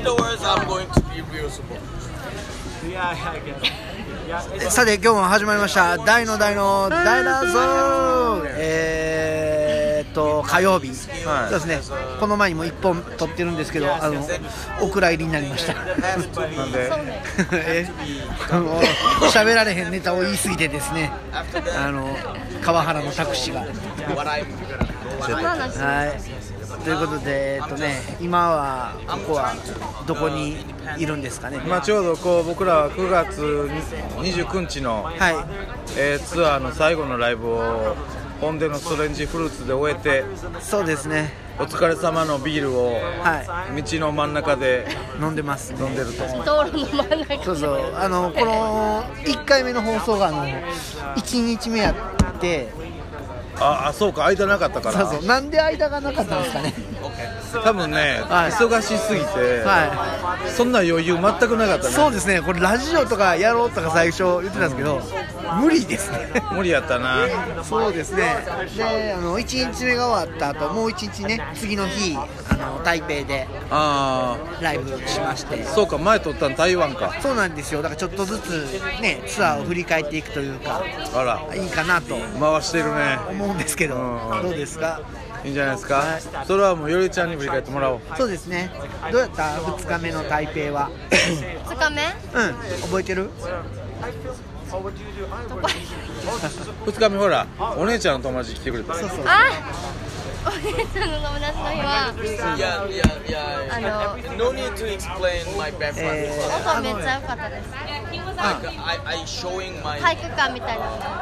Afterwards, I'm going to be real support. さて今日も始まりました大の大の大だぞ火曜日、そうですね。この前にも1本撮ってるんですけど、お蔵入りになりました。なんで喋られへんネタを言い過ぎてですね、川原のタクシーがはいということで、今はここはどこにいるんですかね。 ちょうどこう僕らは9月29日の、ツアーの最後のライブをポンデのストレンジフルーツで終えて、 そうですね、 お疲れ様のビールを道の真ん中で飲んでます、 飲んでると。 道路の真ん中。 そうそう、この1回目の放送が1日目やって、 そうか、間なかったから。 そうそう、なんで間がなかったんですかね。 多分ね、忙しすぎて、そんな余裕全くなかったね。 そうですね、これラジオとかやろうとか最初言ってたんですけど、無理ですね。 無理やったな。 そうですね。で、1日目が終わった後、もう1日ね、次の日台北でライブしまして。 そうか、前撮ったの台湾か。 そうなんですよ。だからちょっとずつね、ツアーを振り返っていくというか、いいかなと回してるね、 思うんですけど、どうですか。 いいんじゃないですか。それはもうよりちゃんに振り返ってもらおう。 そうですね。どうやった2日目の台北は。 2日目？ 覚えてる ？2日目ほら、お姉ちゃんの友達来てくれた。 そうそう。 お姉ちゃんの友達の日は No need to explain my background. 音めっちゃ良かったです。 I showing my 体育館みたいなので。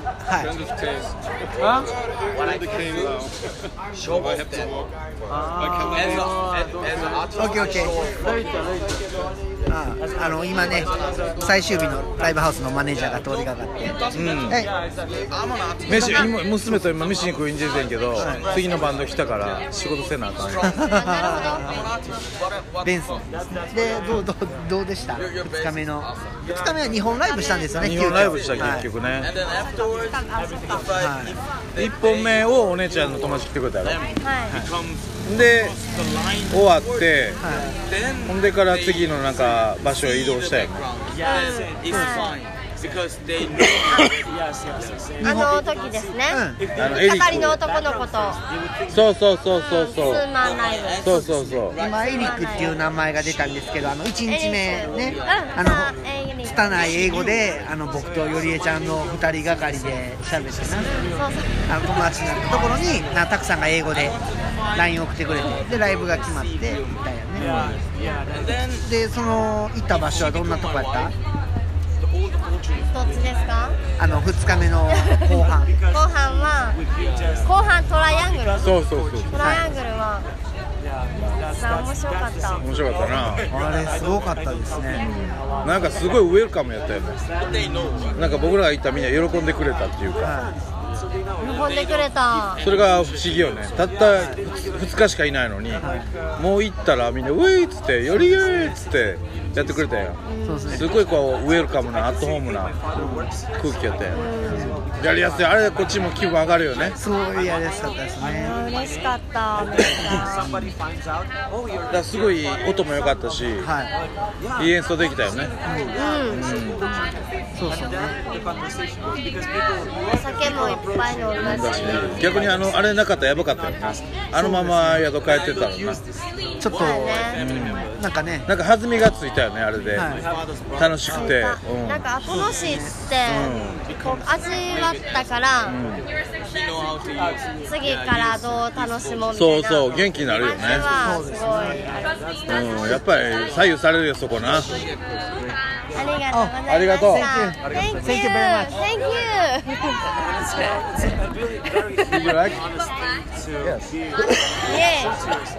what I can do. Show off that. As an artist. Okay. 今ね、最終日のライブハウスのマネージャーが通りかかって、 飯、娘と今飯に食いに出てんけど、次のバンド来たから仕事せなあかん。 ベンソンで、どうでした。2日目の2日目は2本ライブしたんですよね。 2本ライブした結局ね。1本目をお姉ちゃんの友達来てくれたよ。で終わって、ほんでから次のなんか場所へ移動したよね。 時ですね。係の男の子と。 そう。 ツーマンライブ。 そう。 今エリックっていう名前が出たんですけど、1日目ね、拙い英語で僕とよりえちゃんの2人がかりで喋ってな、友達になったところにたくさんが英語で LINE 送ってくれて、でライブが決まってみたいなね。でその行った場所はどんなとこやった？ どっちですか ？2日目の後半後半トライアングル。 そうトライアングルは面白かった。 面白かったな。 あれすごかったですね。 なんかすごいウェルカムやったよね。なんか僕らが行ったみんな喜んでくれたっていうか、 喜んでくれた。 それが不思議よね。たった2日しかいないのに、もう行ったらみんなウェイっつってよりっつってやってくれたよ。すごいこうウェルカムなアットホームな空気やって、やりやすい。あれこっちも気分上がるよね。 すごいやりやすかったですね。 嬉しかった。 だからすごい音も良かったし、いい演奏できたよね。 そうね。 お酒もいっぱい飲んだし、 逆にあれなかったらやばかったよね。あのまま宿帰ってたらな。 ちょっとなんかね、 なんか弾みがついたよね、あれで。楽しくて、 なんか楽しいって味わったから、次からどう楽しもうみたいな。 そう元気になるよね。やっぱり左右されるよそこな。 ありがとうございました。Thank you very much. Thank you. You like? Yes. Yeah.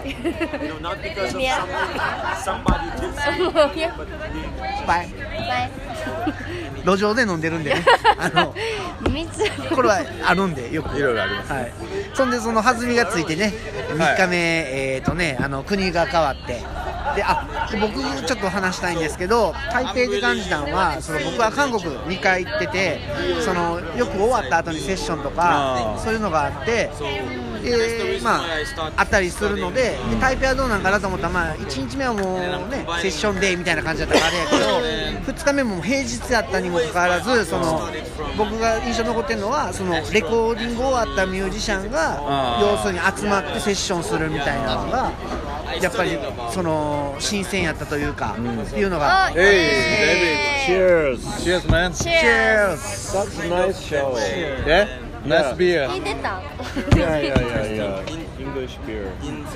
Bye. Bye. 路上で飲んでるんでね。これは飲んでよくいろいろあります。 そんでその弾みがついてね、3日目国が変わって。で僕ちょっと話したいんですけど、台北で感じたのは、僕は韓国2回行ってて、よく終わった後にセッションとかそういうのがあって、 でまああったりするので、台北はどうなんかなと思ったら、まあ1日目はもうねセッションデーみたいな感じだったからあれやけど、2日目も平日やったにもかかわらず、その僕が印象に残ってるのは、そのレコーディング終わったミュージシャンが要するに集まってセッションするみたいなのがやっぱりその新鮮やったというか、っていうのが。 Cheers Cheers man Cheers That's a nice show. Yeah nice beer 聞いてた Yeah. English beer.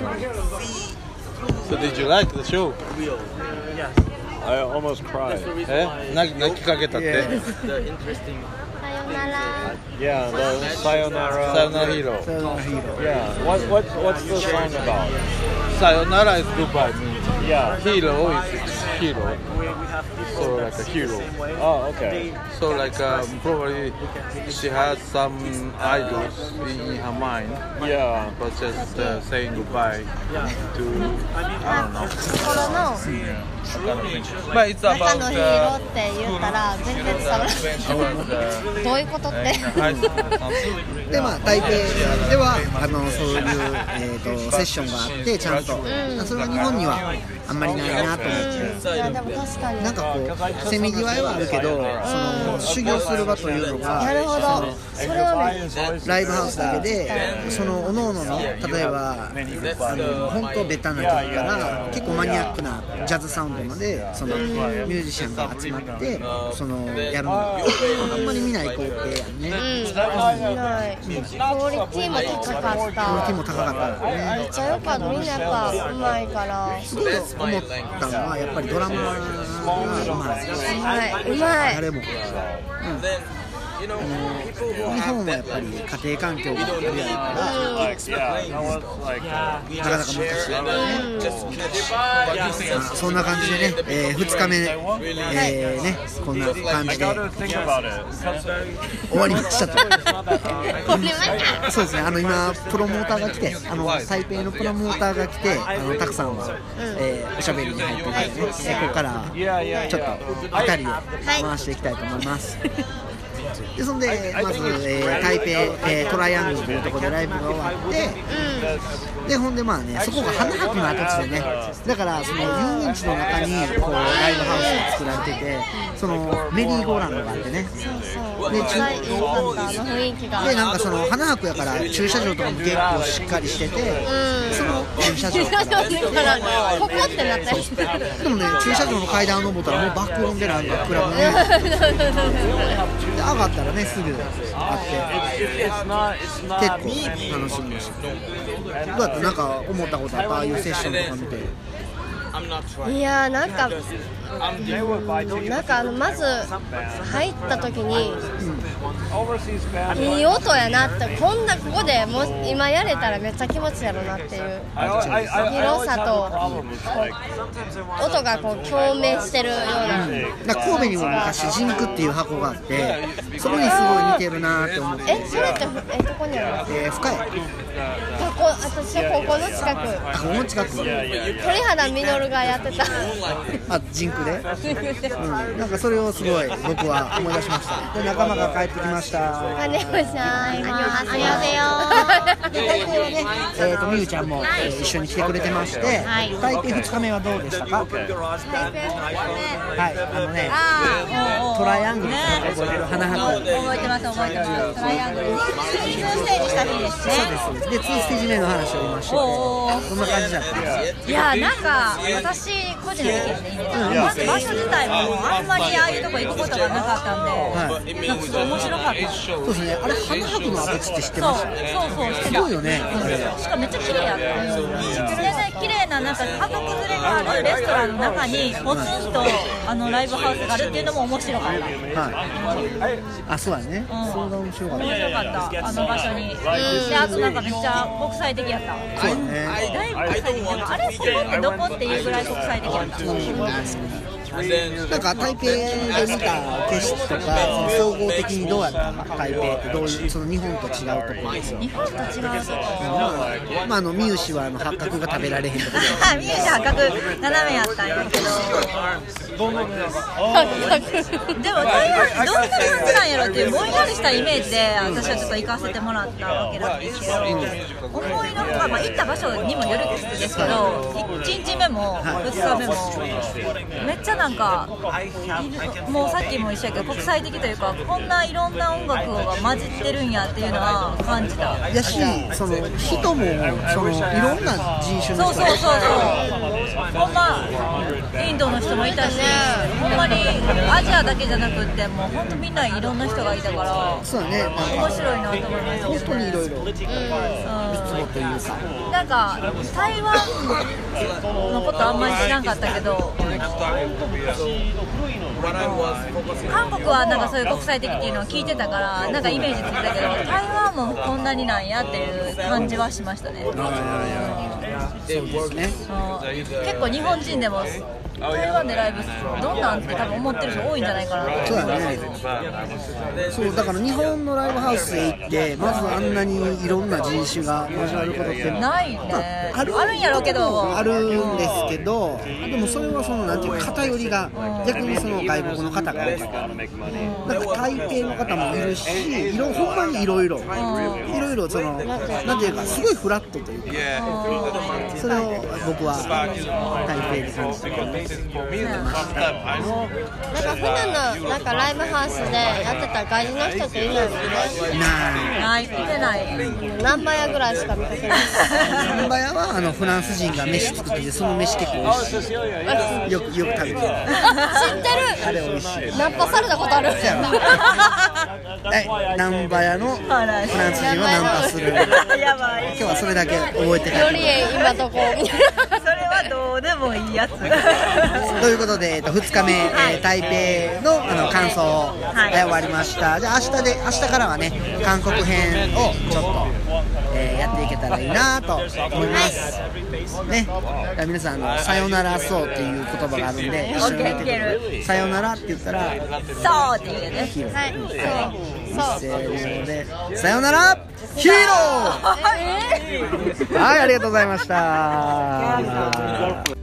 So did you like the show? I almost cried. 泣きかけたって。 さよなら Yeah, the Sayonara. さよならヒーロー。 Yeah. What's the song about? さよなら is goodbye means. Yeah. Hero is hero. So like a hero. Oh, okay. So like probably she has some idols in her mind, Yeah. but just saying goodbye to I don't know. 心の But it's 中 about のヒーローって言ったら全然伝わらない about どういうことって high school or something. でまあ台北ではそういう、セッションがあってちゃんと、それは日本にはあんまりないなと思って、 いやでも確かになんかこうせめぎ合いはあるけど、その修行する場というのがなるほどそれはねライブハウスだけで、その各々の例えば本当ベタな曲から結構マニアックなジャズサウンドまでそのミュージシャンが集まってそのやるのがあんまり見ない光景やんね。 ないクオリティも高かったクオリティも高かったですね。 めっちゃ良かったみんなやっぱうまいからすごい思ったのはやっぱりドラマがうまい。 うまい誰も、日本はやっぱり家庭環境があるやろから Like, yeah. That was like. なかなか難しい、そんな感じでね、2日目、ね、こんな感じで I gotta think about it. 終わりましたと。 これまそうですね、今プロモーターが来て、サイペイのプロモーターが来て、たくさんの、おしゃべりに入っていて、ここからちょっと2人で回していきたいと思います。でそんでまず、台北、トライアングルというところでライブが終わって、でほんでまあね、そこが花博の跡地でね、だからその遊園地の中にこうライブハウスが作られてて、そのメリーゴーランドがあってね、 で良かった雰囲気がでなんかその花博やから駐車場とかも結構しっかりしてて、その駐車場からここってなったりしてでもね、駐車場の階段を登ったらもう爆音でなんかクラブねで上がったらねすぐあって結構楽しみました。どうやってなんか思ったことあった？ああいうセッションとか見て。 いやなんかまず入った時に、いい音やなって、こんなここでも今やれたらめっちゃ気持ちいいやろなっていう広さと音がこう共鳴してるような、 神戸にも昔ジンクっていう箱があって、それにすごい似てるなって思って。 それってどこにあるの？ 深い。 私は高校の近く。 高校の近く。 鳥肌実がやってた。 あ、ジンクで。なんかそれをすごい僕は思い出しました。で仲間が帰ってきました。 ありがとうございます。ありがとう。 で台北はね、みゆちゃんも一緒に来てくれてまして、台北2日目はどうでしたか？ 台北はい、ね、トライアングルって覚えてる花博。 覚えてます。トライアングル。2ステージした日ですね。 そうです。で2ステージ目の話を今してて、こんな感じだったんです。 いやなんか私個人の意見でいいですか？まず場所自体もあんまりああいうとこ行くことがなかったんで、なんかすごい面白かった。 そうですね。あれ花博の跡地って知ってます？ そうすごいよね。 しかもめっちゃ綺麗やった。全然綺麗ななんか家族連れがあるレストランの中にポツンとライブハウスがあるっていうのも面白かった。 はい。あ、そうだね。そうが面白かった。 面白かったあの場所に。であとなんかめっちゃ国際的やった。 そうだね。 だいぶ国際的やった。あれここってどこっていうぐらい国際的やった。 なんか台北で見た景色とか、総合的にどうやったか、台北ってどういうその日本と違うところですよ。 日本と違うとこまあミューシは八角が食べられへんところミュージ八角斜めやったんやけどでも台湾どんな感じなんやろっていうぼんやりしたイメージで私はちょっと行かせてもらったわけなんですけど、思いのほか、行った場所にもよるんですけど、1日目も2日目もめっちゃなんかもうさっきも一緒やけど国際的というか、こんないろんな音楽が混じってるんやっていうのは感じた。 やし、その人もそのいろんな人種の人そうほんまインドの人もいたし、ほんまにアジアだけじゃなくってもう本当みんないろんな人がいたから、 そうだね、 面白いなと思いましたけど、 本当にいろいろ三つ子というか、 なんか台湾のことあんまり知らんかったけど、韓国はなんかそういう国際的っていうのを聞いてたからなんかイメージついたけど、台湾もこんなになんやっていう感じはしましたね。 そうですね。 結構日本人でも台湾でライブどんなんって多分思ってる人多いんじゃないかなと。 そうだね。そうだから日本のライブハウスへ行ってまずあんなにいろんな人種が交わることってないね。 あるんやろうけど、 あるんですけど、でもそれはそのなんていうか偏りが逆にその外国の方が多い。なんか台北の方もいるし、ほんまにいろいろそのなんていうかすごいフラットというか、それを僕は台北で感じてなんか普段のなんかライブハウスでやってた外人の人っていないもんね。 見てない。 ナンバヤぐらいしか見てない。 ナンバヤはフランス人が飯作ってて、その飯結構美味しい。よく食べてる。知ってる。あれ美味しい。 ナンパされたことある。 ナンバヤのフランス人をナンパする。 やばい。 今日はそれだけ覚えて帰より今どこ。 それはどうでもいいやつ。 ということで、2日目、台北の感想で終わりました。じゃあ明日からはね、韓国編をちょっと、やっていけたらいいなと思いますね。皆さんさよならそうっていう言葉があるんで、一緒に言ってください。さよならって言ったらそうっていうね。 はい、 せーのでさよならヒーロー。はい、ありがとうございました。